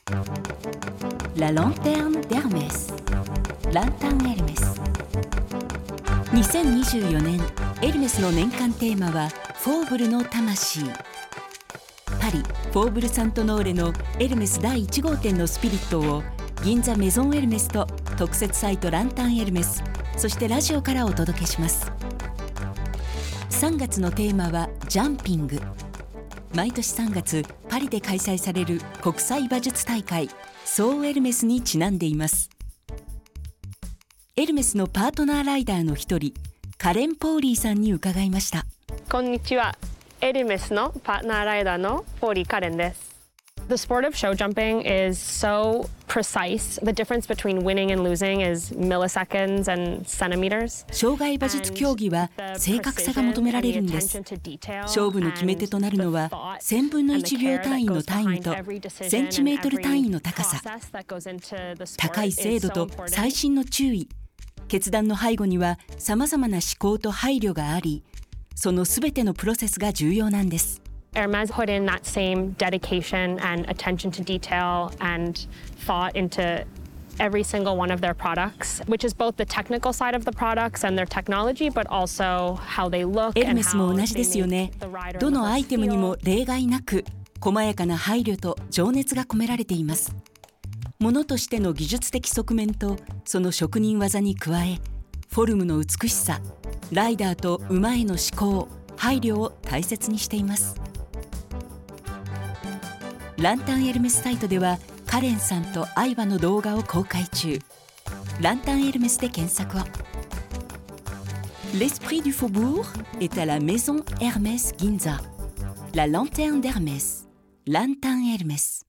La lanterne d'Hermès ランタンエルメス。2024年エルメスの年間テーマはフォーブルの魂。パリフォーブル・サントノーレのエルメス第1号店のスピリットを銀座メゾンエルメスと特設サイトランタンエルメス、そしてラジオからお届けします。3月のテーマはジャンピング。毎年3月パリで開催される国際馬術大会ソーエルメスにちなんでいます。エルメスのパートナーライダーの一人カレン・ポーリーさんに伺いました。 こんにちは。エルメスのパートナーライダーのポーリー・カレンです。The sport of show jumping is so precise. The difference between winning and losing is milliseconds and centimeters. 障害馬術競技は正確さが求められるんです。勝負の決め手となるのは1000分の1秒単位のタイムとセンチメートル単位の高さ、高い精度と細心の注意、決断の背後にはさまざまな思考と配慮があり、そのすべてのプロセスが重要なんです。 Hermès put in that same dedication and attention to detail and thought into every single one of their products, which is both the technical side of the products and their technology, but also how they look and how they make the rider look feel. エルメスも同じですよね。どのアイテムにも例外なく細やかな配慮と情熱が込められています。物としての技術的側面とその職人技に加え、フォルムの美しさ、ライダーと馬への思考、配慮を大切にしています。ランタンエルメスサイトではカレンさんと愛馬の動画を公開中。ランタンエルメスで検索を。L'esprit du faubourg est à la maison Hermès Ginza. La lanterne d'Hermès. Lantin Hermès.